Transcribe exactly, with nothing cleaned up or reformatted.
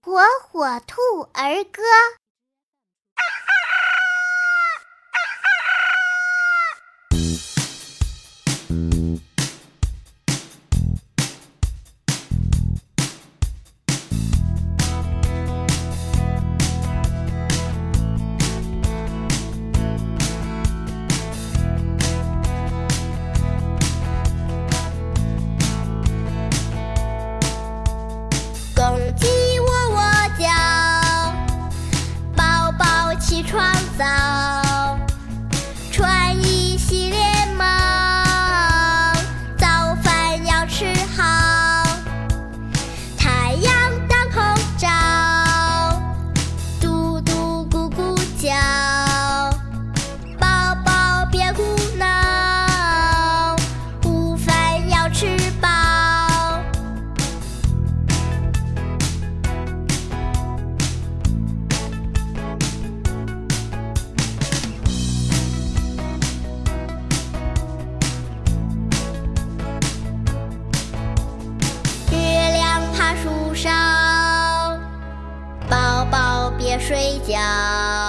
火火兔儿歌。公鸡窝窝叫，宝宝起床早，穿衣洗脸忙，早饭要吃好，太阳当空照，嘟嘟咕咕叫，宝宝别胡闹，午饭要吃饱。树上，宝宝别睡觉。